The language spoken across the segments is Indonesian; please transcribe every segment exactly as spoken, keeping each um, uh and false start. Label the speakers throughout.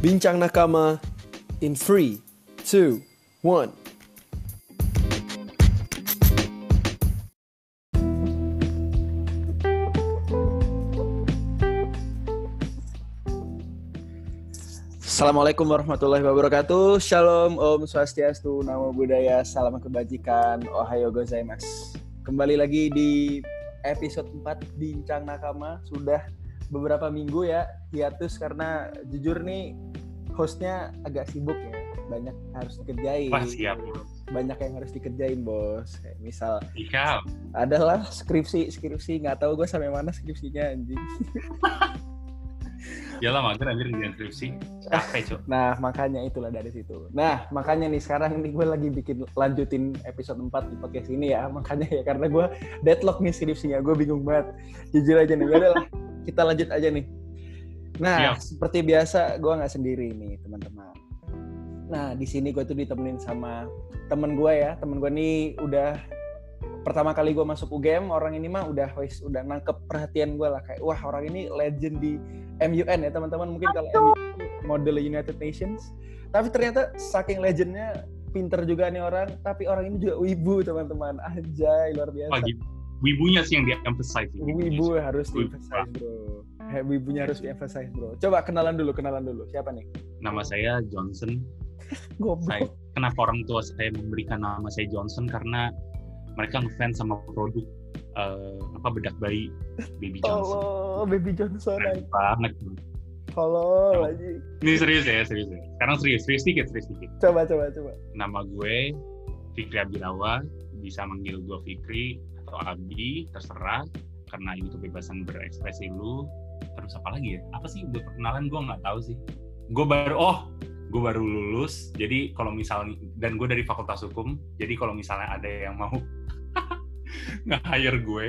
Speaker 1: Bincang Nakama in three, two, one. Assalamualaikum warahmatullahi wabarakatuh. Shalom, Om Swastiastu, Namo Buddhaya, Salam Kebajikan, Ohayo gozaimasu. Kembali lagi di episode empat Bincang Nakama. Sudah beberapa minggu ya hiatus karena jujur nih hostnya agak sibuk ya. Banyak harus dikerjain.
Speaker 2: Wah, siap.
Speaker 1: Banyak yang harus dikerjain, bos. Kayak misal
Speaker 2: Ikal.
Speaker 1: adalah skripsi, skripsi nggak tahu gue sampai mana skripsinya anjing.
Speaker 2: Yalah mager anjir dengan skripsi. Capek, Cok.
Speaker 1: Nah, makanya itulah dari situ. Nah, makanya nih sekarang nih gue lagi bikin lanjutin episode empat di podcast ini ya. Makanya ya karena gue deadlock nih skripsinya. Gue bingung banget. Jujur aja nih. Yaudah lah, kita lanjut aja nih. Nah, Siap. Seperti biasa gue nggak sendiri nih, teman-teman. Nah, di sini gue tuh ditemenin sama temen gue ya. Temen gue nih udah pertama kali gue masuk U G M, orang ini mah udah wis udah nangkep perhatian gue lah, kayak wah orang ini legend di M U N ya teman-teman. Mungkin kalau M U N model United Nations, tapi ternyata saking legendnya pinter juga nih orang, tapi orang ini juga wibu teman-teman. Anjay, luar biasa.
Speaker 2: Pagi wibunya sih yang di-emphasize.
Speaker 1: Wibu harus di-emphasize, bro. He, wibunya harus di-emphasize, bro. Coba kenalan dulu, kenalan dulu. Siapa nih?
Speaker 2: Nama saya Johnson. Saya, kenapa orang tua saya memberikan nama saya Johnson? Karena mereka ngefans sama produk uh, apa bedak bayi Baby Johnson.
Speaker 1: Oh, Baby Johnson.
Speaker 2: Keren banget.
Speaker 1: Halo,
Speaker 2: no.
Speaker 1: lagi.
Speaker 2: Ini serius ya, serius ya. Sekarang serius, serius dikit, serius dikit.
Speaker 1: Coba, coba, coba.
Speaker 2: Nama gue Fikri Abirawa, bisa manggil gue Fikri atau Abi, terserah. Karena ini kebebasan berekspresi lu. Terus apa lagi ya? Apa sih buat perkenalan gue nggak tahu sih. Gue baru, oh, gue baru lulus. Jadi kalau misalnya, dan gue dari Fakultas Hukum. Jadi kalau misalnya ada yang mau nge-hire gue.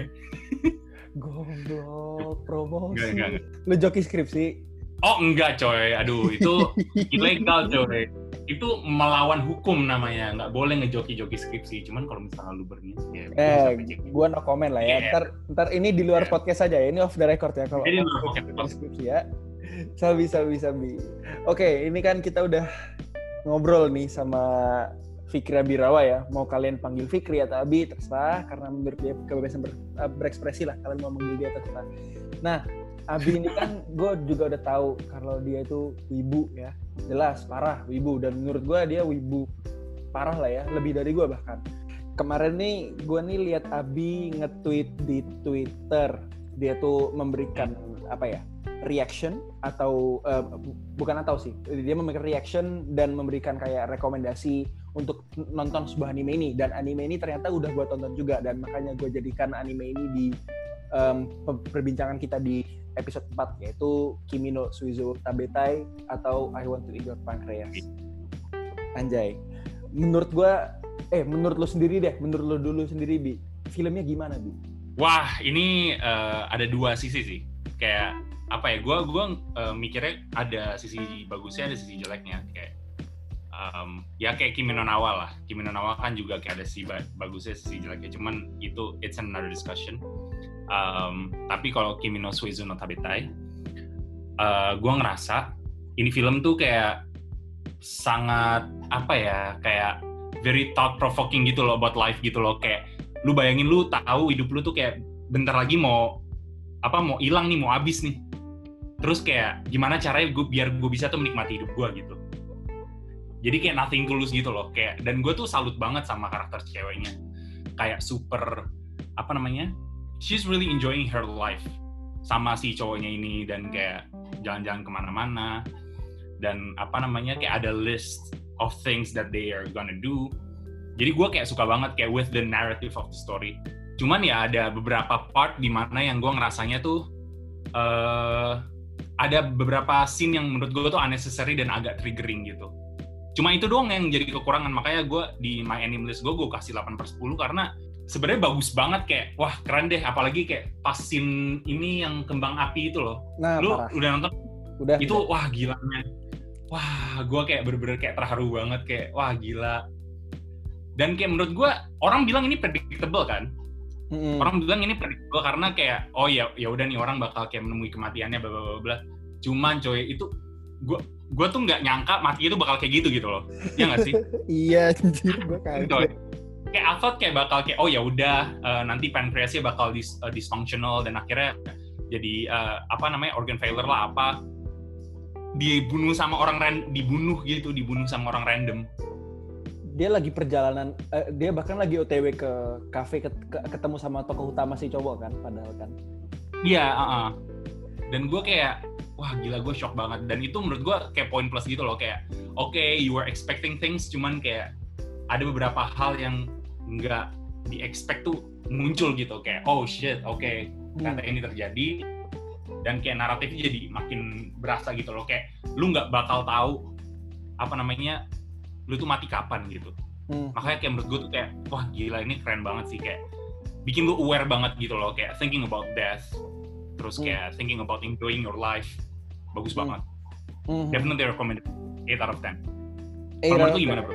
Speaker 1: Goblok, promosi.
Speaker 2: Enggak, enggak, enggak.
Speaker 1: Lu joki skripsi?
Speaker 2: Oh enggak coy, aduh itu ilegal coy. Itu melawan hukum namanya, nggak boleh ngejoki-joki skripsi. Cuman kalau misalnya lu berniat ya.
Speaker 1: Eh, gua no comment lah ya. Yeah. Ntar, ntar ini di luar yeah. podcast aja ya. Ini off the record ya kalau skripsi ya. Sabi, sabi, sabi. Oke, ini kan kita udah ngobrol nih sama Fikri Abirawa ya. Mau kalian panggil Fikri atau Abi terserah, karena menurut dia kebebasan ber, berekspresi lah. Kalian mau manggil dia terserah. Nah, Abi ini kan gue juga udah tahu kalau dia itu wibu ya. Jelas, parah, wibu. Dan menurut gue dia wibu parah lah ya. Lebih dari gue bahkan. Kemarin nih, gue nih lihat Abi nge-tweet di Twitter. Dia tuh memberikan, apa ya, reaction atau, uh, bukan atau sih. Dia memberikan reaction dan memberikan kayak rekomendasi untuk nonton sebuah anime ini. Dan anime ini ternyata udah gue tonton juga. Dan makanya gue jadikan anime ini di um, perbincangan kita di episode empat, yaitu Kimi no Suizo Tabetai atau I Want to Eat Your Pancreas. Anjay. Menurut gua, eh menurut lo sendiri deh, menurut lo dulu sendiri, Bi. Filmnya gimana, Bi?
Speaker 2: Wah, ini uh, ada dua sisi sih. Kayak apa ya? Gua gua uh, mikirnya ada sisi bagusnya, ada sisi jeleknya. Kayak um, ya kayak Kimi no Na wa lah. Kimi no Na wa kan juga kayak ada sisi bagusnya, sisi jeleknya. Cuman itu it's another discussion. Um, tapi kalau Kimi no Suizo no Tabetai, uh, gue ngerasa ini film tuh kayak sangat apa ya, kayak very thought provoking gitu loh about life gitu loh. Kayak lu bayangin lu tahu hidup lu tuh kayak bentar lagi mau apa mau hilang nih, mau habis nih. Terus kayak gimana caranya gue biar gue bisa tuh menikmati hidup gue gitu. Jadi kayak nothing tulus gitu loh. Kayak dan gue tuh salut banget sama karakter ceweknya. Kayak super apa namanya? She's really enjoying her life sama si cowoknya ini, dan kayak jalan-jalan kemana-mana, dan apa namanya kayak ada list of things that they are gonna do. Jadi gue kayak suka banget kayak with the narrative of the story. Cuman ya ada beberapa part di mana yang gue ngerasanya tuh uh, ada beberapa scene yang menurut gue tuh unnecessary dan agak triggering gitu. Cuma itu doang yang jadi kekurangan, makanya gue di my anime list gue gue kasih delapan per sepuluh karena sebenarnya bagus banget, kayak wah keren deh, apalagi kayak pas scene ini yang kembang api itu loh.
Speaker 1: Nah,
Speaker 2: lu
Speaker 1: parah.
Speaker 2: Udah nonton?
Speaker 1: Udah.
Speaker 2: Itu
Speaker 1: udah.
Speaker 2: Wah gila man. Wah gue kayak bener-bener kayak terharu banget, kayak wah gila. Dan kayak menurut gue orang bilang ini predictable kan. Mm-hmm. Orang bilang ini predictable karena kayak oh ya ya udah nih orang bakal kayak menemui kematiannya bla bla bla. Cuman coy itu gue gue tuh nggak nyangka mati itu bakal kayak gitu gitu loh, ya nggak sih?
Speaker 1: Iya, anjir, gue kaget.
Speaker 2: Kayak I thought kayak bakal kayak oh ya udah uh, nanti pankreasnya bakal dis, uh, dysfunctional dan akhirnya jadi uh, apa namanya organ failure lah apa, dibunuh sama orang ran, dibunuh gitu, dibunuh sama orang random.
Speaker 1: Dia lagi perjalanan, uh, dia bahkan lagi O T W ke kafe ke, ke, ketemu sama tokoh utama si cowok kan, padahal kan.
Speaker 2: Iya, uh-uh. Dan gue kayak wah gila, gue shock banget. Dan itu menurut gue kayak poin plus gitu loh, kayak oke okay, you were expecting things, cuman kayak ada beberapa hal yang nggak di-expect tuh muncul gitu, kayak oh shit, oke okay, ternyata hmm. ini terjadi. Dan kayak naratifnya jadi makin berasa gitu loh, kayak lu nggak bakal tahu apa namanya lu tuh mati kapan gitu. hmm. Makanya kayak menurut gue tuh kayak wah gila, ini keren banget sih, kayak bikin lu aware banget gitu loh, kayak thinking about death, terus kayak hmm. thinking about enjoying your life. Bagus hmm. banget. Mm-hmm. Definitely recommended. eight out of ten. Menurut lu gimana, bro?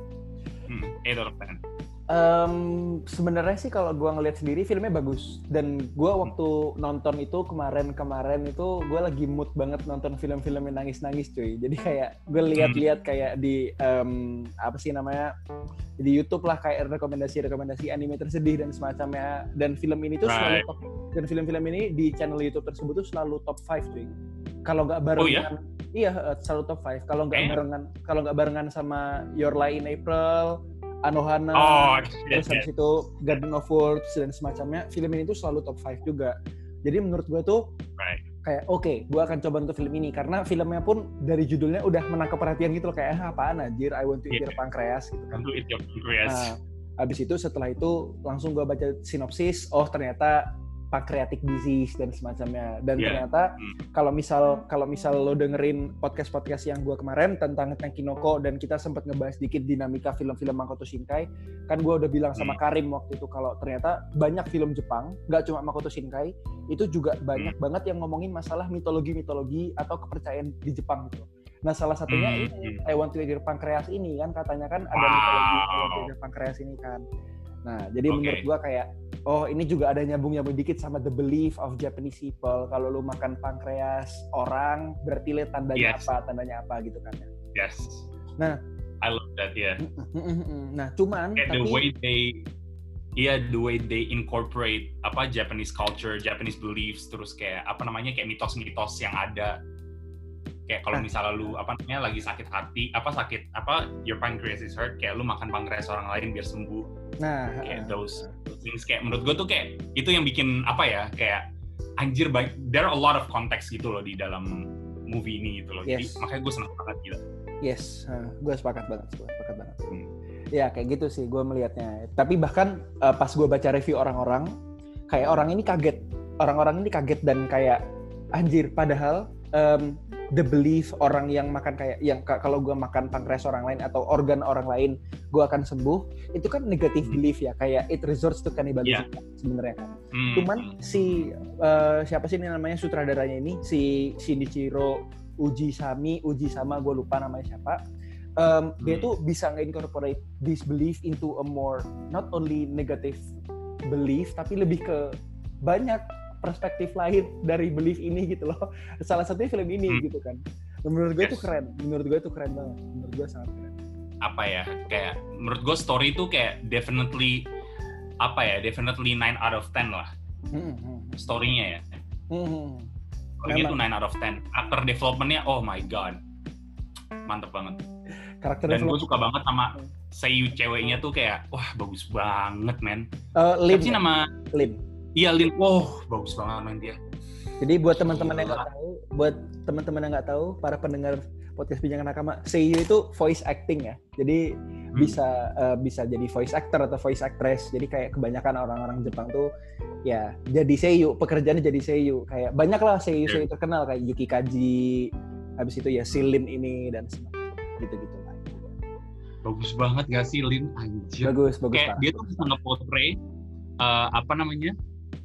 Speaker 2: Hmm, eight out of ten.
Speaker 1: Um, sebenarnya sih kalau gue ngeliat sendiri filmnya bagus, dan gue waktu nonton itu kemarin-kemarin itu gue lagi mood banget nonton film-film yang nangis-nangis cuy. Jadi kayak gue lihat-lihat kayak di um, apa sih namanya di YouTube lah, kayak rekomendasi-rekomendasi anime tersedih dan semacamnya. Dan film ini tuh right. selalu top, dan film-film ini di channel YouTube tersebut tuh selalu top five cuy. Kalau nggak barengan, oh, iya? iya selalu top five. Kalau nggak eh? barengan, kalau nggak barengan sama Your Lie in April, Anohana,
Speaker 2: oh,
Speaker 1: terus habis itu Garden of Words dan semacamnya, film ini tuh selalu top five juga. Jadi menurut gue tuh
Speaker 2: right.
Speaker 1: kayak oke, okay, gue akan coba untuk film ini karena filmnya pun dari judulnya udah menangkap perhatian gitu loh, kayak ah, apaan anjir, I want to eat yeah. your pancreas gitu kan.
Speaker 2: Want to eat your pancreas.
Speaker 1: Nah, abis itu setelah itu langsung gue baca sinopsis, oh ternyata pancreatic disease dan semacamnya. Dan yeah. ternyata hmm. kalau misal kalau misal lo dengerin podcast-podcast yang gue kemarin tentang Tenkinoko dan kita sempat ngebahas dikit dinamika film-film Makoto Shinkai, kan gue udah bilang sama hmm. Karim waktu itu kalau ternyata banyak film Jepang, nggak cuma Makoto Shinkai, itu juga banyak hmm. banget yang ngomongin masalah mitologi-mitologi atau kepercayaan di Jepang gitu. Nah salah satunya hmm. ini I Want to Eat Your Pancreas ini kan katanya kan ada wow. mitologi I Want to Eat Your Pancreas ini kan. Nah, jadi okay. menurut gua kayak oh ini juga ada nyambung-nyambung dikit sama the belief of Japanese people. Kalau lu makan pankreas orang, berarti lihat tandanya yes. apa, tandanya apa gitu kan ya.
Speaker 2: Yes.
Speaker 1: Nah,
Speaker 2: I love that ya. Yeah.
Speaker 1: Nah, cuman
Speaker 2: and
Speaker 1: tapi
Speaker 2: the way they iya, yeah, the way they incorporate apa Japanese culture, Japanese beliefs, terus kayak apa namanya kayak mitos-mitos yang ada. Kayak kalau misalnya lu apa namanya lagi sakit hati, apa sakit apa your pancreas is hurt, kayak lu makan pankreas orang lain biar sembuh.
Speaker 1: Nah,
Speaker 2: kayak those, those things kayak menurut gue tuh kayak itu yang bikin apa ya kayak anjir baik. There are a lot of context gitu loh di dalam movie ini gitu loh. Yes. Jadi makanya gue senang banget gila.
Speaker 1: Yes, uh, gue sepakat banget, gue sepakat banget. Hmm. Ya kayak gitu sih gue melihatnya. Tapi bahkan uh, pas gue baca review orang-orang, kayak orang ini kaget, orang-orang ini kaget dan kayak anjir. Padahal um, the belief orang yang makan kayak yang k- kalau gue makan pankreas orang lain atau organ orang lain gue akan sembuh, itu kan negative hmm. belief ya, kayak it resorts to cannibalism yeah. sebenarnya kan. Hmm. Cuman si uh, siapa sih ini namanya sutradaranya ini si Shinichiro Ujisami, Ujisama gue lupa namanya siapa. Um, hmm. Dia tuh bisa nge-incorporate this belief into a more not only negative belief tapi lebih ke banyak perspektif lain dari belief ini gitu loh. Salah satunya film ini hmm. gitu kan. Menurut gue yes. itu keren. Menurut gue itu keren banget. Menurut gue sangat keren.
Speaker 2: Apa ya? Kayak menurut gue story itu kayak definitely apa ya? Definitely nine out of ten lah. Hmm. Story-nya ya. Hmm. Story-nya itu nine out of ten. Actor development-nya oh my god. Mantep banget.
Speaker 1: Karakter
Speaker 2: dan gue suka banget sama seiyu ceweknya tuh kayak wah bagus banget men.
Speaker 1: Uh, Lin.
Speaker 2: Siapa sih nama?
Speaker 1: Lin.
Speaker 2: Iya Lin, wow bagus banget main dia.
Speaker 1: Jadi buat teman-teman yang nggak tahu, buat teman-teman yang nggak tahu, para pendengar podcast Bincang Nakama, seiyu itu voice acting ya. Jadi hmm. bisa uh, bisa jadi voice actor atau voice actress. Jadi kayak kebanyakan orang-orang Jepang tuh ya jadi seiyu, pekerjaannya jadi seiyu. Kayak banyak lah seiyu-seiyu yeah. terkenal kayak Yuki Kaji, habis itu ya si Lin ini dan semacamnya gitu-gitu lah.
Speaker 2: Bagus banget gak sih Lin anjir.
Speaker 1: Bagus, bagus.
Speaker 2: Kayak dia tuh bisa nge-portray uh, apa namanya?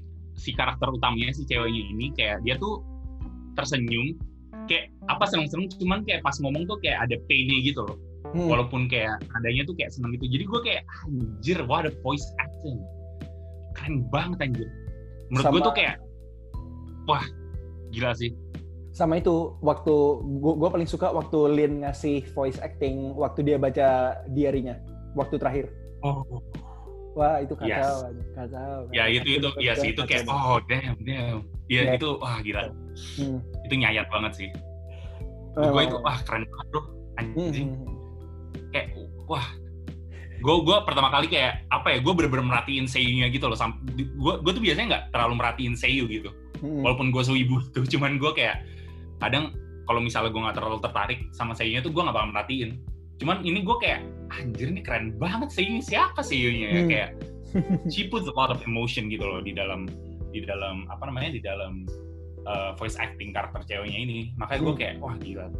Speaker 2: Si karakter utamanya si ceweknya ini kayak dia tuh tersenyum kayak apa seneng-seneng cuman kayak pas ngomong tuh kayak ada pain-nya gitu loh. Hmm. Walaupun kayak adanya tuh kayak seneng gitu. Jadi gue kayak anjir wah ada voice acting. Keren banget anjir. Menurut gue tuh kayak wah gila sih.
Speaker 1: Sama itu waktu gua, gua paling suka waktu Lin ngasih voice acting waktu dia baca diary-nya waktu terakhir.
Speaker 2: Oh.
Speaker 1: Wah itu kacau,
Speaker 2: yes.
Speaker 1: kacau.
Speaker 2: Ya
Speaker 1: kacau.
Speaker 2: itu itu, ya sih itu kayak oh damn damn. Ya yeah. Itu wah gila. Hmm. Itu nyayat banget sih. Oh, gue itu wah keren banget bro, anjing. Hmm. Kayak wah. Gue gue pertama kali kayak apa ya? Gue bener-bener merhatiin seiyunya gitu loh. Gue gue tuh biasanya nggak terlalu merhatiin seiyu gitu. Hmm. Walaupun gue seibu tuh, cuman gue kayak kadang kalau misalnya gue nggak terlalu tertarik sama seiyunya tuh gue nggak bakal merhatiin. Cuman ini gue kayak anjir nih keren banget seiyunya, siapa seiyunya ya? Hmm. Kayak she puts a lot of emotion gitu loh di dalam di dalam apa namanya di dalam uh, voice acting karakter ceweknya ini. Makanya gue kayak wah gila.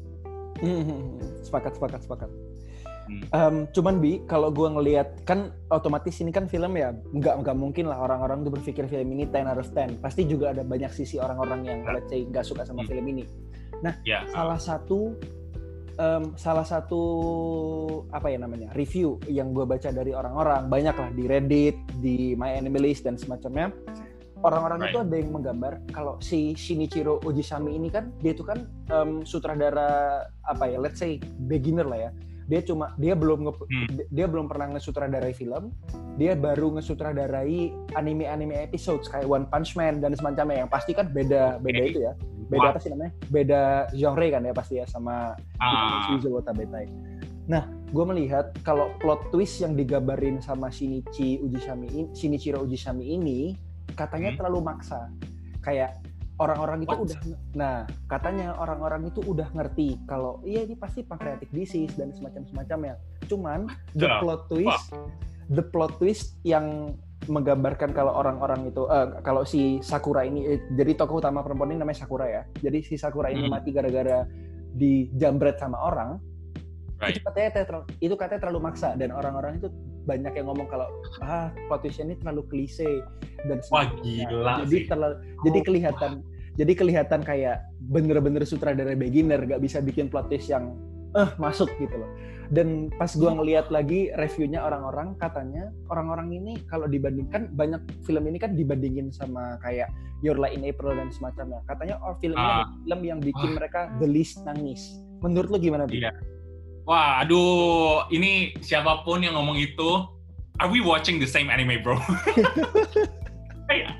Speaker 1: Hmm. Sepakat sepakat sepakat. Um, cuman Bi, kalau gue ngelihat kan otomatis ini kan film ya nggak nggak mungkin lah orang-orang tuh berpikir film ini ten out of ten. Pasti juga ada banyak sisi orang-orang yang let's say nggak suka sama hmm. film ini. Nah, yeah. salah satu um, salah satu apa ya namanya review yang gue baca dari orang-orang banyak lah di Reddit, di MyAnimeList dan semacamnya. Orang-orang right. itu ada yang menggambar kalau si Shinichiro Ujisami ini kan dia itu kan um, sutradara apa ya let's say beginner lah ya. Dia cuma dia belum nge, hmm. dia belum pernah ngesutradarai film, dia baru ngesutradarai anime-anime episodes kayak One Punch Man dan semacamnya yang pasti kan beda beda okay. itu ya, beda What? apa sih namanya, beda genre kan ya pasti ya sama
Speaker 2: ah.
Speaker 1: Shinichiro Watabetai. Nah, gue melihat kalau plot twist yang digambarin sama Shinichi Ujisami, Shinichiro Ujisami ini katanya hmm. terlalu maksa, kayak orang-orang itu What? udah, nah katanya orang-orang itu udah ngerti kalau iya ini pasti pancreatic disease dan semacam-semacamnya. Cuman the yeah. plot twist, What? the plot twist yang menggambarkan kalau orang-orang itu, uh, kalau si Sakura ini, eh, jadi tokoh utama perempuan ini namanya Sakura ya. Jadi si Sakura ini hmm. mati gara-gara dijambret sama orang. Right. Itu katanya terlalu, itu katanya terlalu maksa dan orang-orang itu banyak yang ngomong kalau ah plot twist-nya ini terlalu klise dan
Speaker 2: wah gila
Speaker 1: jadi
Speaker 2: sih.
Speaker 1: terlalu oh, jadi kelihatan wah. jadi kelihatan kayak bener-bener sutradara beginner gak bisa bikin plot twist yang eh masuk gitu loh. Dan pas gua ngelihat lagi reviewnya orang-orang katanya orang-orang ini kalau dibandingkan banyak film ini kan dibandingin sama kayak Your Lie in April dan semacamnya. Katanya oh film ini uh, film yang bikin uh, mereka the least nangis. Menurut lu gimana?
Speaker 2: Iya. Wah, aduh, ini siapapun yang ngomong itu, are we watching the same anime, bro? Kayak,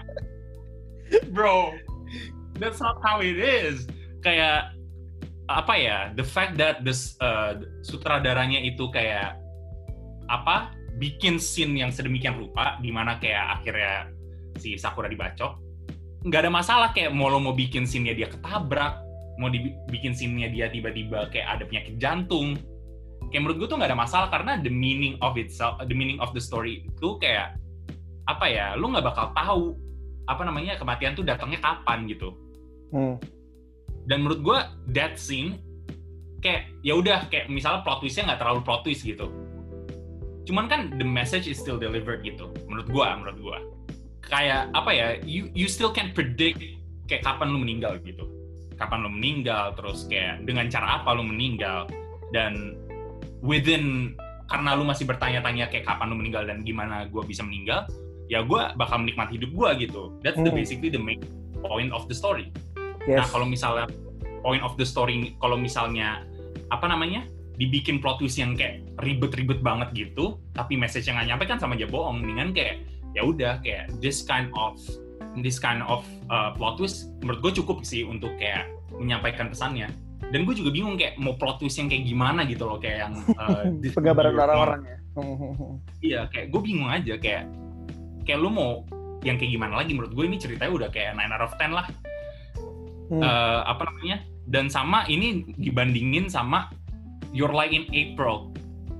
Speaker 2: bro, that's not how it is. Kayak, apa ya, the fact that this uh, sutradaranya itu kayak, apa, bikin scene yang sedemikian rupa, di mana kayak akhirnya si Sakura dibacok, nggak ada masalah kayak mau lo mau bikin scene-nya dia ketabrak, mau dibikin scene-nya dia tiba-tiba kayak ada penyakit jantung. Kayak menurut gue tuh nggak ada masalah karena the meaning of itself, the meaning of the story itu kayak apa ya, lu nggak bakal tahu apa namanya kematian tuh datangnya kapan gitu. Hmm. Dan menurut gue that scene kayak ya udah kayak misalnya plot twistnya nggak terlalu plot twist gitu. Cuman kan the message is still delivered gitu. Menurut gue, menurut gue kayak apa ya, you you still can predict kayak kapan lu meninggal gitu. Kapan lu meninggal, terus kayak dengan cara apa lu meninggal dan within karena lu masih bertanya-tanya kayak kapan lu meninggal dan gimana gue bisa meninggal, ya gue bakal menikmati hidup gue gitu. That's the basically the main point of the story. Yes. Nah kalau misalnya point of the story, kalau misalnya apa namanya dibikin plot twist yang kayak ribet-ribet banget gitu, tapi message yang nggak nyampe kan sama aja bohong. Mendingan kayak ya udah kayak this kind of this kind of uh, plot twist menurut gue cukup sih untuk kayak menyampaikan pesannya. Dan gue juga bingung kayak mau plot twist yang kayak gimana gitu loh, kayak yang uh,
Speaker 1: penggambaran orang-orang ya.
Speaker 2: Iya, kayak gue bingung aja kayak kayak lu mau yang kayak gimana lagi. Menurut gue ini ceritanya udah kayak nine out of ten lah. Hmm. Uh, apa namanya? Dan sama ini dibandingin sama Your Lie in April.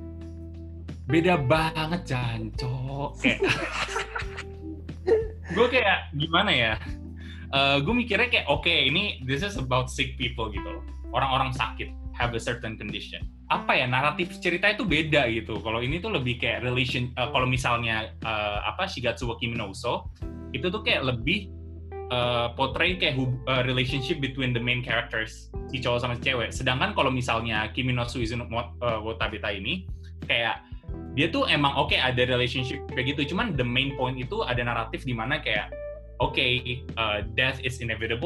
Speaker 2: Beda banget jancok. Kayak gue kayak gimana ya? Uh, gue mikirnya kayak oke okay, ini this is about sick people gitu loh. Orang-orang sakit, have a certain condition. Apa ya, naratif cerita itu beda gitu. Kalau ini tuh lebih kayak relation, uh, kalau misalnya uh, apa Shigatsu wa Kimi no Uso, itu tuh kayak lebih uh, portray kayak hub, uh, relationship between the main characters, si cowok sama si cewek. Sedangkan kalau misalnya Kimi no Suizu no uh, Wotabeta ini, kayak dia tuh emang oke okay, ada relationship kayak gitu, cuman the main point itu ada naratif di mana kayak oke, okay, uh, death is inevitable,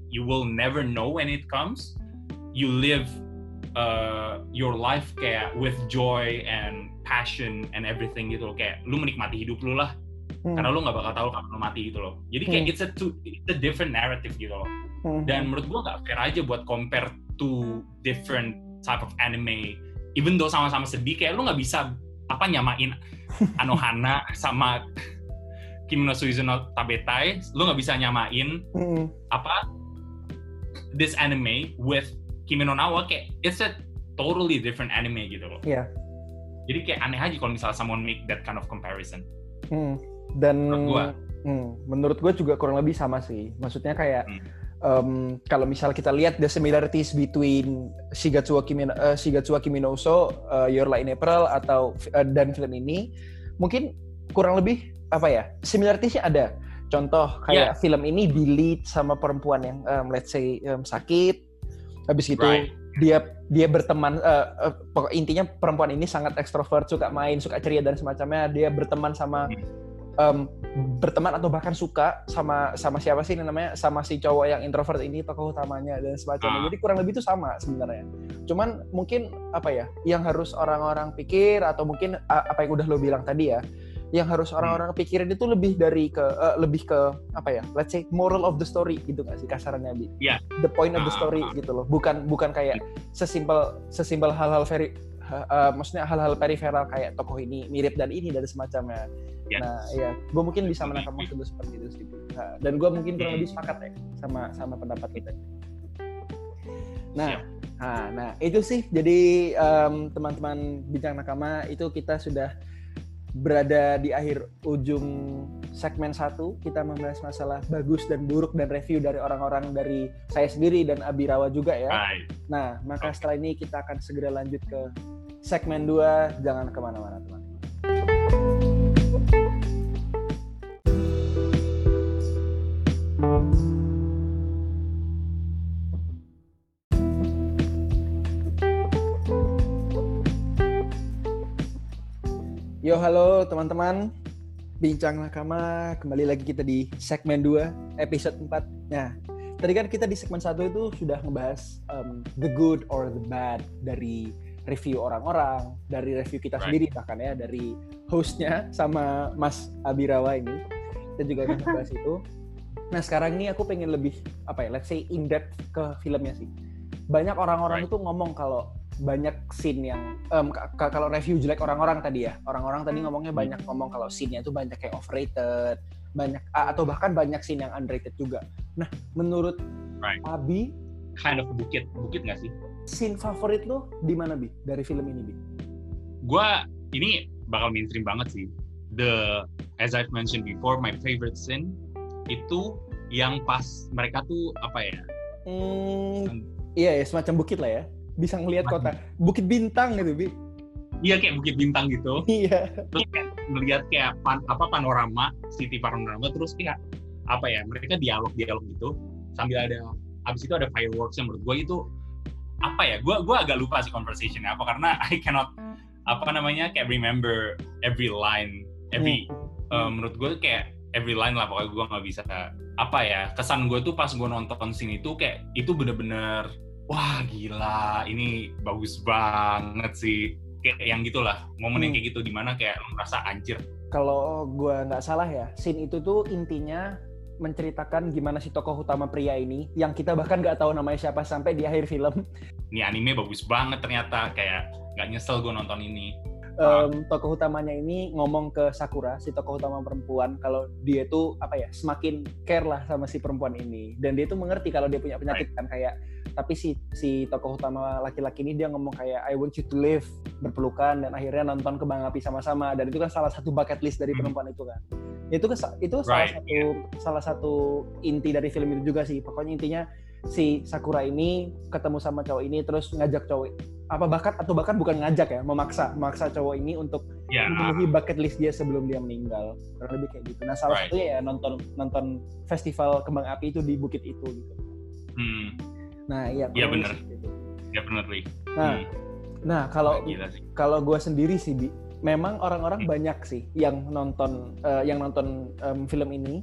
Speaker 2: you will never know when it comes. You live uh, your life kayak with joy and passion and everything gitu loh, kayak lu menikmati hidup lu lah. Hmm. Karena lu nggak bakal tahu kapan lu mati gitu loh. Jadi kayak hmm. it's a two, it's a different narrative gitu loh. Hmm. Dan menurut gua nggak fair aja buat compare two different type of anime. Even though sama-sama sedih, kayak lu nggak bisa apa nyamain Anohana sama Kimi no Suizu no Tabetai. Lu nggak bisa nyamain hmm. apa this anime with Kimi no Na wa, kayak it's a totally different anime gitu loh.
Speaker 1: Iya. Yeah.
Speaker 2: Jadi kayak aneh aja kalau misalnya someone make that kind of comparison.
Speaker 1: Hmm. Dan
Speaker 2: menurut gue,
Speaker 1: hmm, menurut gue juga kurang lebih sama sih. Maksudnya kayak hmm. um, kalau misal kita lihat the similarities between Shigatsu wa Kimi, uh, Shigatsu wa Kimi no Uso, uh, Your Lie in April atau uh, dan film ini, mungkin kurang lebih apa ya? Similarities-nya ada. Contoh kayak yeah. film ini di-lead sama perempuan yang um, let's say um, sakit, habis itu right. dia dia berteman. Uh, uh, intinya perempuan ini sangat ekstrovert, suka main, suka ceria dan semacamnya. Dia berteman sama hmm. Um, berteman atau bahkan suka sama sama siapa sih ini namanya, sama si cowok yang introvert ini, tokoh utamanya dan semacamnya. Jadi kurang lebih itu sama sebenarnya. Cuman mungkin apa ya, yang harus orang-orang pikir atau mungkin uh, apa yang udah lo bilang tadi ya, yang harus orang-orang pikirin itu lebih dari ke uh, lebih ke apa ya, let's say moral of the story gitu nggak sih kasarannya, Bi?
Speaker 2: Yeah.
Speaker 1: The point of the story uh, gitu loh. Bukan bukan kayak sesimpel sesimpel hal-hal very uh, uh, maksudnya hal-hal periferal kayak tokoh ini mirip dan ini dan semacamnya. Yeah. Nah, ya, gue mungkin bisa menangkap maksud lu seperti itu sih. Nah, dan gue mungkin kurang lebih sepakat ya sama sama pendapat kita. Nah, nah, nah itu sih. Jadi um, teman-teman Bincang Nakama, itu kita sudah berada di akhir ujung segmen satu. Kita membahas masalah bagus dan buruk dan review dari orang-orang, dari saya sendiri dan Abirawa juga ya.
Speaker 2: Bye.
Speaker 1: Nah, maka setelah ini kita akan segera lanjut ke segmen dua. Jangan kemana-mana teman. Yo, halo teman-teman Bincang Nakama, kembali lagi kita di segmen dua, episode empat. Nah, tadi kan kita di segmen satu itu sudah ngebahas um, the good or the bad dari review orang-orang, dari review kita right. sendiri bahkan ya, dari hostnya sama Mas Abirawa ini. Kita juga akan ngebahas itu. Nah, sekarang ini aku pengen lebih, apa ya, let's say in depth ke filmnya sih. Banyak orang-orang right. itu ngomong kalau banyak scene yang um, k- k- kalau review jelek orang-orang tadi ya, orang-orang tadi ngomongnya banyak ngomong kalau scene-nya itu banyak kayak overrated, banyak atau bahkan banyak scene yang underrated juga. Nah, menurut
Speaker 2: right.
Speaker 1: Abi,
Speaker 2: kind of bukit bukit nggak sih?
Speaker 1: Scene favorit lo di mana, Bi, dari film ini, Bi?
Speaker 2: Gua ini bakal mainstream banget sih. The as I've mentioned before, my favorite scene itu yang pas mereka tuh apa ya?
Speaker 1: Hmm, iya ya, semacam bukit lah ya. Bisa ngelihat kota Bukit Bintang gitu, Bi.
Speaker 2: Iya, kayak Bukit Bintang gitu.
Speaker 1: Iya.
Speaker 2: Terus kayak ngelihat kayak pan, apa panorama, city panorama, terus kayak apa ya, mereka dialog-dialog gitu sambil ada, abis itu ada fireworks yang menurut gue itu apa ya, gue gue agak lupa sih conversation-nya apa, karena I cannot apa namanya kayak remember every line, every hmm. uh, menurut gue kayak every line lah, pokoknya gue nggak bisa apa ya, kesan gue tuh pas gue nonton scene itu kayak itu bener-bener wah gila, ini bagus banget sih, kayak yang gitulah, momen hmm. yang kayak gitu, dimana kayak lu merasa anjir.
Speaker 1: Kalau gue nggak salah ya, scene itu tuh intinya menceritakan gimana si tokoh utama pria ini, yang kita bahkan nggak tahu namanya siapa sampai di akhir film.
Speaker 2: Ini anime bagus banget ternyata, kayak nggak nyesel gue nonton ini.
Speaker 1: Um, tokoh utamanya ini ngomong ke Sakura, si tokoh utama perempuan, kalau dia tuh apa ya, semakin care lah sama si perempuan ini, dan dia tuh mengerti kalau dia punya penyakit right. kan, kayak tapi si si tokoh utama laki-laki ini dia ngomong kayak I want you to live, berpelukan, dan akhirnya nonton kembang api sama-sama, dan itu kan salah satu bucket list dari perempuan itu kan. Itu itu salah right. satu salah satu inti dari film itu juga sih. Pokoknya intinya si Sakura ini ketemu sama cowok ini terus ngajak cowok apa bahkan atau bahkan bukan ngajak ya, memaksa memaksa cowok ini untuk yeah. memenuhi bucket list dia sebelum dia meninggal. Kurang lebih kayak gitu. Nah, salah right. satunya ya nonton nonton festival kembang api itu di bukit itu gitu.
Speaker 2: Hmm.
Speaker 1: Nah, iya.
Speaker 2: Iya benar. Iya benar, Ri.
Speaker 1: Nah, hmm. nah kalau kalau gue sendiri sih, Bi, memang orang-orang hmm. banyak sih yang nonton uh, yang nonton um, film ini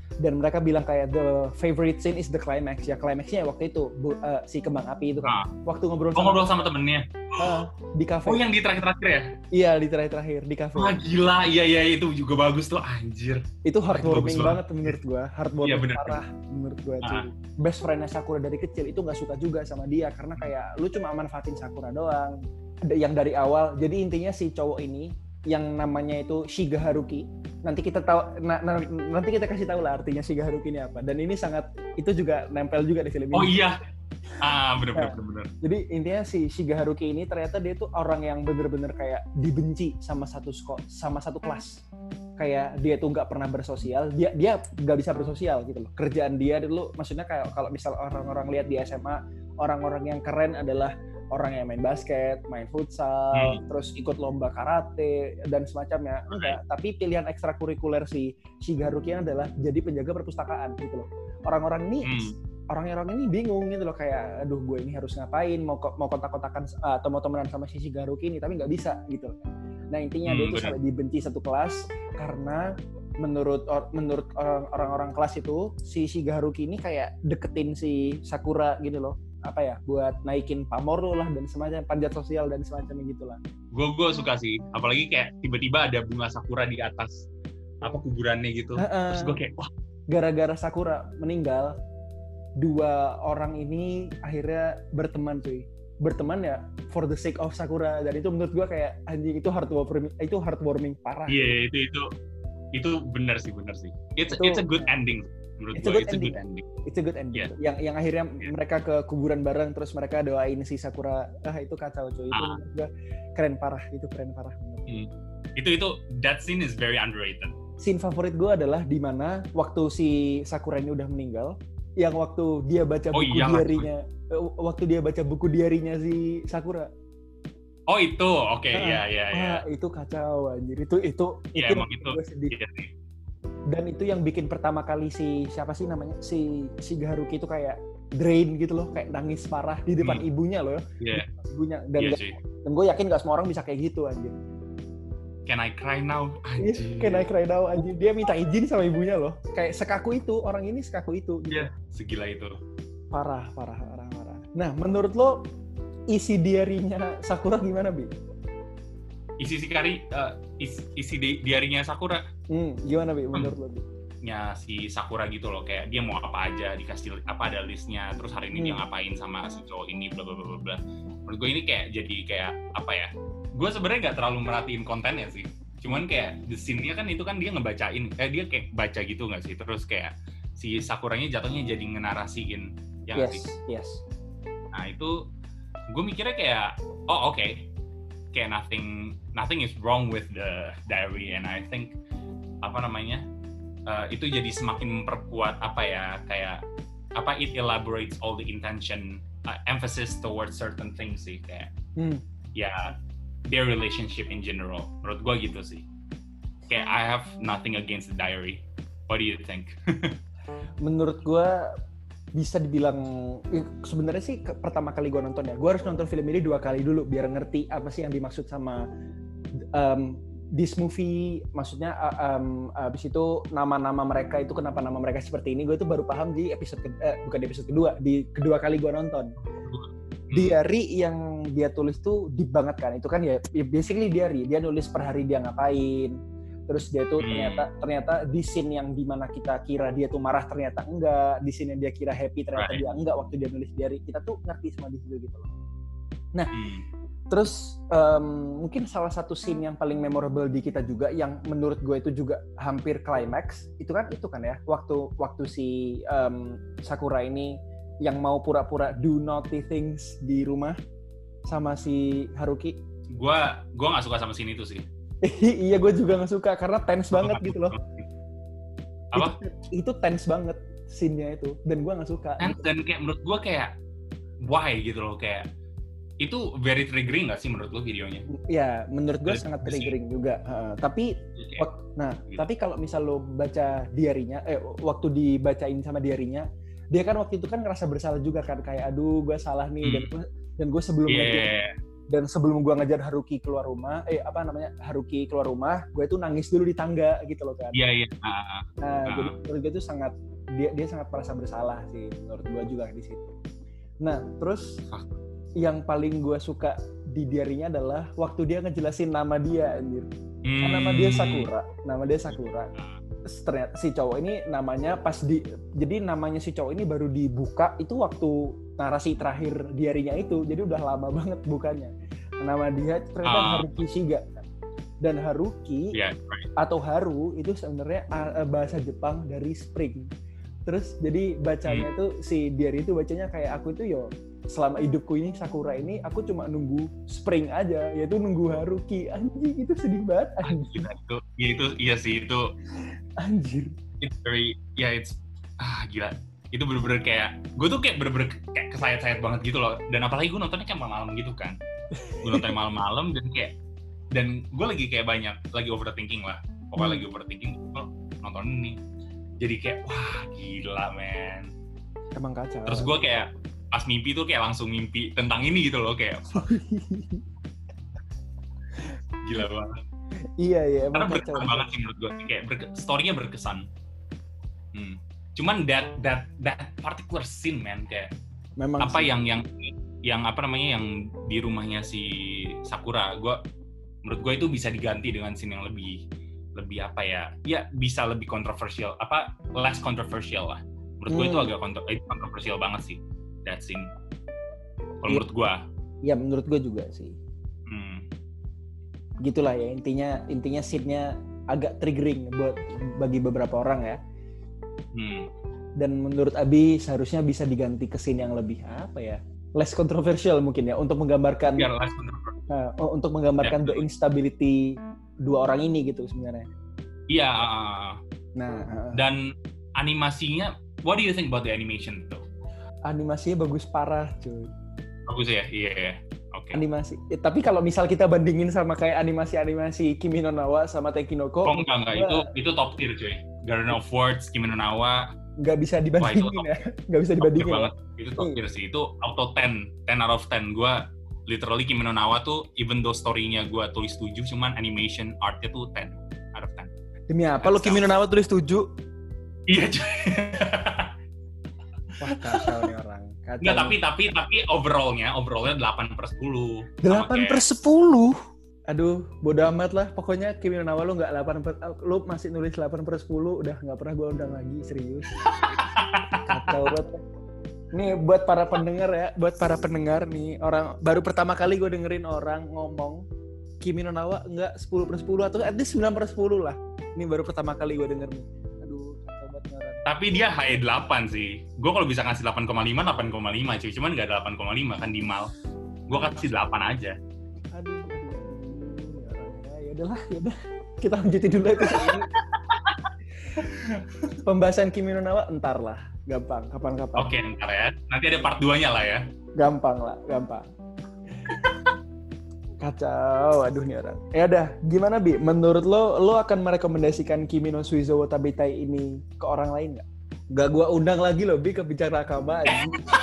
Speaker 1: dan mereka bilang kayak the favorite scene is the climax. Ya climaxnya waktu itu bu, uh, si kembang api itu kan. Ah. Waktu ngobrol
Speaker 2: oh, sama ngobrol sama temennya.
Speaker 1: Uh, di kafe.
Speaker 2: Oh yang di terakhir-terakhir ya?
Speaker 1: Iya di terakhir-terakhir di kafe.
Speaker 2: Wah gila, iya iya itu juga bagus tuh anjir.
Speaker 1: Itu heartwarming banget menurut gua, heartwarming
Speaker 2: ya,
Speaker 1: parah menurut gua tuh. Ah. Best friend-nya Sakura dari kecil itu nggak suka juga sama dia karena kayak lu cuma manfaatin Sakura doang. Yang dari awal. Jadi intinya si cowok ini yang namanya itu Shiga Haruki. Nanti kita tahu na, na, nanti kita kasih tahu lah artinya Shiga Haruki ini apa. Dan ini sangat itu juga nempel juga di film ini.
Speaker 2: Oh iya. Ah, benar benar benar.
Speaker 1: Jadi intinya si Shiga Haruki ini ternyata dia tuh orang yang bener-bener kayak dibenci sama satu sekolah, sama satu kelas. Kayak dia tuh nggak pernah bersosial, dia dia nggak bisa bersosial gitu loh. Kerjaan dia dulu, maksudnya kayak kalau misal orang-orang lihat di S M A, orang-orang yang keren adalah orang yang main basket, main futsal, hmm. terus ikut lomba karate dan semacamnya. Enggak, tapi pilihan ekstrakurikuler si Shiga Haruki adalah jadi penjaga perpustakaan gitu loh. Orang-orang ini hmm. orang-orang ini bingung gitu loh kayak aduh gue ini harus ngapain, mau mau kontak-kontakan atau mau temenan sama si Shiga Haruki ini tapi nggak bisa gitu. Nah intinya hmm, dia tuh sampai dibenci satu kelas karena menurut or, menurut orang-orang kelas itu si Shiga Haruki ini kayak deketin si Sakura gitu loh. Apa ya, buat naikin pamor lo lah dan semacam panjat sosial dan semacamnya gitulah.
Speaker 2: Gue gue suka sih, apalagi kayak tiba-tiba ada bunga sakura di atas apa kuburannya gitu. Uh-uh. Terus gue kayak wah.
Speaker 1: Gara-gara Sakura meninggal, dua orang ini akhirnya berteman cuy. Berteman ya for the sake of Sakura, dan itu menurut gue kayak anjing itu heartwarming, itu heartwarming parah.
Speaker 2: Iya yeah, itu itu itu benar sih benar sih. It's itu, it's a good ending. Menurut
Speaker 1: it's,
Speaker 2: gue,
Speaker 1: a it's a good ending. It's a good ending. Yeah. Yang yang akhirnya yeah. mereka ke kuburan bareng terus mereka doain si Sakura. Ah itu kacau cuy. Itu ah. menurut gue keren parah. Itu keren parah.
Speaker 2: Hmm. Itu itu that scene is very underrated.
Speaker 1: Scene favorit gue adalah di mana waktu si Sakura ini udah meninggal, yang waktu dia baca buku oh, iya, diarinya, waktu dia baca buku diarinya si Sakura.
Speaker 2: Oh itu, oke, okay. ya ya ya.
Speaker 1: Itu kacau anjir. Itu itu
Speaker 2: ya,
Speaker 1: itu
Speaker 2: emang itu. Iya,
Speaker 1: dan itu yang bikin pertama kali si siapa sih namanya si Shiga Haruki itu kayak drain gitu loh, kayak nangis parah di depan hmm. ibunya loh.
Speaker 2: Iya. Yeah.
Speaker 1: Ibunya dan yeah, gak, dan gue yakin gak semua orang bisa kayak gitu anjir.
Speaker 2: Can I cry now? Anjir.
Speaker 1: Can I cry now anjir. Dia minta izin sama ibunya loh. Kayak sekaku itu, orang ini sekaku itu.
Speaker 2: Iya, yeah, segila itu.
Speaker 1: Parah, parah, parah, parah. Nah, menurut lo isi diarinya Sakura gimana, Bi?
Speaker 2: Isi si kari uh, isi, isi di, diarinya Sakura.
Speaker 1: Hmm, gimana Bi menurut hmm. lo? Bi?
Speaker 2: Ya si Sakura gitu loh, kayak dia mau apa aja dikasih apa ada listnya, terus hari ini hmm. dia ngapain sama si cowok ini bla bla bla bla. Menurut gue ini kayak jadi kayak apa ya? Gue sebenarnya nggak terlalu merhatiin kontennya sih. Cuman kayak the scene-nya kan itu kan dia ngebacain, eh dia kayak baca gitu nggak sih? Terus kayak si Sakuranya jatuhnya jadi ngenarasiin yang
Speaker 1: yes,
Speaker 2: sih.
Speaker 1: Yes.
Speaker 2: Nah itu gue mikirnya kayak oh oke. Okay. Kayak nothing nothing is wrong with the diary, and I think apa namanya uh, itu jadi semakin memperkuat apa ya kayak apa it elaborates all the intention uh, emphasis towards certain things sih kayak hmm. ya yeah, their relationship in general menurut gue gitu sih. Kayak I have nothing against the diary. What do you think?
Speaker 1: Menurut gue bisa dibilang sebenarnya sih ke, pertama kali gue nonton ya, gue harus nonton film ini dua kali dulu biar ngerti apa sih yang dimaksud sama um, this movie, maksudnya um, abis itu nama-nama mereka itu kenapa nama mereka seperti ini, gue tuh baru paham di episode ke, eh, bukan di episode kedua, di kedua kali gue nonton. Diary yang dia tulis tuh deep banget kan, itu kan ya basically diary, dia nulis per hari dia ngapain. Terus dia tuh ternyata ternyata di scene yang dimana kita kira dia tuh marah ternyata enggak, di scene yang dia kira happy ternyata right. dia enggak waktu dia nulis diary. Kita tuh ngerti semua di situ gitu loh. Nah, hmm. terus um, mungkin salah satu scene yang paling memorable di kita juga yang menurut gue itu juga hampir climax itu kan itu kan ya waktu waktu si um, Sakura ini yang mau pura-pura do naughty things di rumah sama si Haruki.
Speaker 2: Gua gua nggak suka sama scene itu sih.
Speaker 1: Iya, gue juga nggak suka karena tense banget gitu loh.
Speaker 2: Apa?
Speaker 1: Itu, itu tense banget scene-nya itu, dan gue nggak suka.
Speaker 2: Dan, dan kayak menurut gue kayak why gitu loh, kayak itu very triggering nggak sih menurut lo videonya?
Speaker 1: Ya, menurut gue sangat triggering juga. Uh, tapi, okay. wak, nah, gitu. Tapi kalau misal lo baca diarinya, eh waktu dibacain sama diarinya, dia kan waktu itu kan ngerasa bersalah juga kan, kayak aduh gue salah nih hmm. dan dan gue sebelumnya
Speaker 2: yeah.
Speaker 1: tuh Dan sebelum gue ngejar Haruki keluar rumah, eh apa namanya Haruki keluar rumah, gue itu nangis dulu di tangga gitu loh kan.
Speaker 2: Iya iya. Uh,
Speaker 1: nah uh. jadi menurut gue itu sangat dia dia sangat merasa bersalah sih menurut gue juga di situ. Nah terus uh. yang paling gue suka di diarinya adalah waktu dia ngejelasin nama dia anjir. Hmm. Kan nama dia Sakura, nama dia Sakura. Ternyata si cowok ini namanya pas di jadi namanya si cowok ini baru dibuka itu waktu narasi terakhir diarinya itu, jadi udah lama banget bukannya. Nama dia ternyata uh. Haruki Shiga. Dan Haruki yeah, right. atau Haru itu sebenarnya bahasa Jepang dari spring. Terus jadi bacanya hmm. tuh si diary itu bacanya kayak aku itu yo selama hidupku ini Sakura ini aku cuma nunggu spring aja, yaitu nunggu Haruki. Anjing itu sedih banget.
Speaker 2: Anjir itu, ya itu iya sih itu.
Speaker 1: Anjir.
Speaker 2: It's very ya yeah, it's ah gila. Itu bener-bener kayak gue tuh kayak bener-bener kayak kesayat-sayat banget gitu loh. Dan apalagi gue nontonnya kayak malam-malam gitu kan. Gue nonton malam-malam dan kayak dan gue lagi kayak banyak lagi overthinking lah. Pokoknya hmm. lagi overthinking gue nonton ini. Jadi kayak wah gila men.
Speaker 1: Emang kacau.
Speaker 2: Terus gue kayak pas mimpi tuh kayak langsung mimpi tentang ini gitu loh kayak gila banget.
Speaker 1: Iya iya.
Speaker 2: Karena berkesan banget sih menurut gue kayak berke- story-nya berkesan. Hmm. Cuman that that that particular scene man kayak memang apa sih. yang yang yang apa namanya yang di rumahnya si Sakura, gue menurut gue itu bisa diganti dengan scene yang lebih lebih apa ya ya bisa lebih kontroversial apa less controversial lah menurut hmm. gue itu agak kontro- kontroversial banget sih that scene kalau ya, menurut gue
Speaker 1: ya menurut gue juga sih hmm. gitulah ya intinya intinya scene-nya agak triggering buat bagi beberapa orang ya. Hmm. Dan menurut Abi seharusnya bisa diganti ke scene yang lebih apa ya less controversial mungkin ya untuk menggambarkan ya, less uh, untuk menggambarkan ya, the instability dua orang ini gitu sebenarnya.
Speaker 2: Iya. Nah uh, dan animasinya, what do you think about the animation though?
Speaker 1: Animasinya bagus parah cuy.
Speaker 2: Bagus ya, iya. Yeah. Oke. Okay.
Speaker 1: Animasi. Ya, tapi kalau misal kita bandingin sama kayak animasi-animasi Kimi no Na wa sama Tekinoko.
Speaker 2: Oh enggak enggak, itu itu top tier cuy. Garden of Words, Kimi no Na wa.
Speaker 1: Nggak bisa dibandingin Wah, ya. Nggak bisa dibandingin.
Speaker 2: Banget. Itu top tier sih. Itu auto ten, ten out of ten. Gua literally Kimi no Na wa tuh even though story-nya gua tulis tujuh, cuman animation art-nya tuh ten out of ten.
Speaker 1: Demi apa lo Kimi no Na wa tulis tujuh?
Speaker 2: Iya cuy.
Speaker 1: Wah kacau nih orang. Kacau.
Speaker 2: Nggak, tapi tapi tapi overall-nya overall-nya delapan per sepuluh.
Speaker 1: delapan per sepuluh? Aduh, bodo amat lah. Pokoknya Kimi no Na wa lu nggak delapan per, lu masih nulis delapan per sepuluh, udah nggak pernah gue undang lagi, serius. Kacau banget. Nih buat para pendengar ya, buat para pendengar nih, orang baru pertama kali gue dengerin orang ngomong Kimi no Na wa nggak sepuluh per sepuluh atau at least sembilan per sepuluh lah. Ini baru pertama kali gue denger nih. Aduh, kacau banget nih orang.
Speaker 2: Tapi dia high delapan sih. Gue kalau bisa ngasih delapan koma lima, delapan koma lima cuy. Cuman nggak delapan koma lima kan di mal. Gue kasih delapan aja.
Speaker 1: Aduh, aduh. Ya udahlah, ya udah. Kita lanjutin dulu episode ini. Pembahasan Kimi no Na wa entar lah. Gampang, kapan-kapan.
Speaker 2: Oke, entar ya. Nanti ada part dua-nya lah ya.
Speaker 1: Gampang lah, gampang. Kacau, aduh nih orang. Ya udah, gimana Bi? Menurut lo, lo akan merekomendasikan Kimi no Suizo wa Tabetai ini ke orang lain nggak? Gak gua undang lagi lo Bi ke Bicara Nakama aja.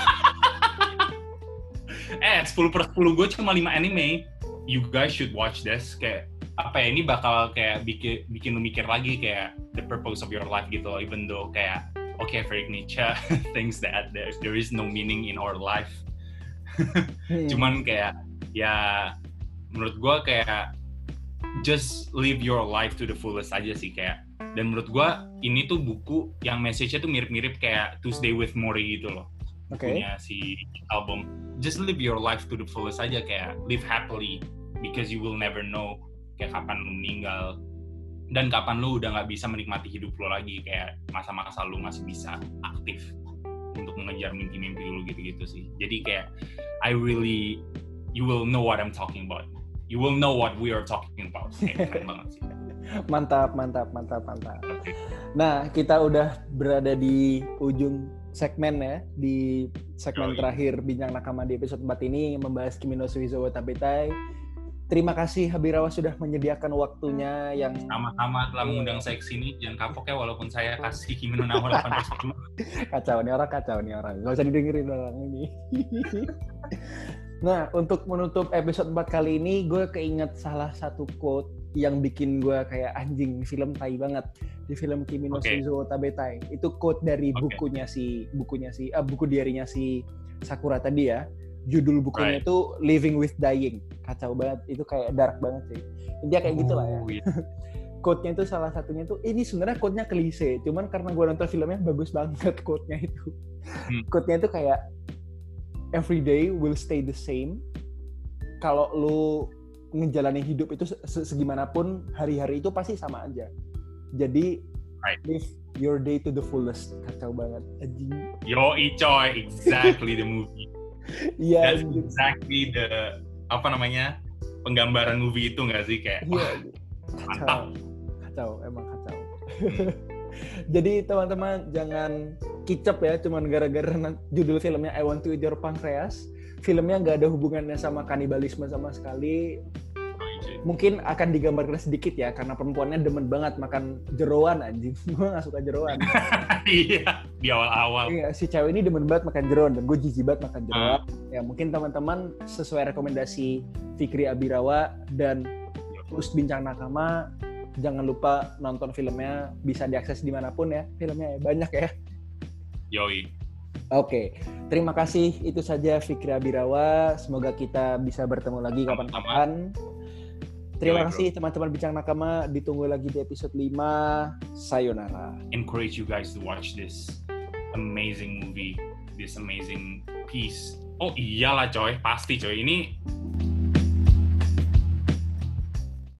Speaker 2: eh, sepuluh per sepuluh gue cuma lima anime. You guys should watch this. Kayak apa ya, ini bakal kayak bikin bikin lu mikir lagi kayak the purpose of your life gitu loh. Even though kayak okay, Friedrich Nietzsche thinks that there, there is no meaning in our life. hmm. Cuman kayak ya menurut gue kayak just live your life to the fullest aja sih kayak. Dan menurut gue ini tuh buku yang message-nya tuh mirip-mirip kayak Tuesday with Morrie gitu loh.
Speaker 1: Okay.
Speaker 2: Punya si album. Just live your life to the fullest aja kayak live happily because you will never know kayak kapan lu meninggal dan kapan lu udah nggak bisa menikmati hidup lu lagi kayak masa-masa lu masih bisa aktif untuk mengejar mimpi-mimpi lu gitu-gitu sih. Jadi kayak I really you will know what I'm talking about. You will know what we are talking about. Kayak keren banget sih.
Speaker 1: Mantap, mantap, mantap, mantap. Nah, kita udah berada di ujung segmen ya, di segmen oh, terakhir Bincang Nakama di episode empat ini membahas Kimi no Suizo wa Tabetai. Terima kasih Habirawa sudah menyediakan waktunya yang
Speaker 2: sama-sama telah mengundang saya ke sini. Jangan kapok ya walaupun saya kasih Kimi no Na wa delapan per sepuluh.
Speaker 1: Kacau nih orang, kacau nih orang. Gak usah didengerin orang ini. Nah, untuk menutup episode empat kali ini, gue keinget salah satu quote yang bikin gue kayak anjing, film tai banget. Di film Kimi no
Speaker 2: Okay.
Speaker 1: Shoujo Tabetai. Itu quote dari
Speaker 2: Okay.
Speaker 1: bukunya si, bukunya si, ah, buku diarinya si Sakura tadi ya. Judul bukunya
Speaker 2: Right.
Speaker 1: itu Living with Dying. Kacau banget, itu kayak dark banget sih. Intinya kayak gitu lah ya.
Speaker 2: Oh, iya.
Speaker 1: Quote-nya itu salah satunya tuh, ini sebenarnya quote-nya klise. Cuman karena gue nonton filmnya bagus banget quote-nya itu.
Speaker 2: Hmm.
Speaker 1: Quote-nya itu kayak, every day will stay the same. Kalau lu ngejalanin hidup itu segimanapun, hari-hari itu pasti sama aja. Jadi
Speaker 2: Right.
Speaker 1: live your day to the fullest. Kacau banget. Anjing.
Speaker 2: Yo, coy, exactly the movie.
Speaker 1: Iya.
Speaker 2: That's exactly the apa namanya penggambaran movie itu nggak sih kayak?
Speaker 1: Iya.
Speaker 2: Wah,
Speaker 1: Kacau.
Speaker 2: mantap.
Speaker 1: Kacau, emang kacau. Jadi teman-teman jangan kicep ya, cuman gara-gara judul filmnya I Want to Eat Your Pancreas. Filmnya nggak ada hubungannya sama kanibalisme sama sekali. Mungkin akan digambarkan sedikit ya, karena perempuannya demen banget makan jeroan anjing. Gue nggak suka jeroan.
Speaker 2: Iya, di awal-awal.
Speaker 1: Iya, si cewek ini demen banget makan jeroan dan gue jijik banget makan jeroan. Uh. Ya mungkin teman-teman sesuai rekomendasi Fikri Abirawa dan Us Bincang Nakama, jangan lupa nonton filmnya, bisa diakses dimanapun ya, filmnya banyak ya.
Speaker 2: Yoi.
Speaker 1: Oke, terima kasih, itu saja Fikri Abirawa, semoga kita bisa bertemu lagi kapan-kapan. Terima Yoi, kasih bro. Teman-teman Bincang Nakama, ditunggu lagi di episode lima, sayonara.
Speaker 2: Encourage you guys to watch this amazing movie, this amazing piece. Oh iyalah coy, pasti coy, ini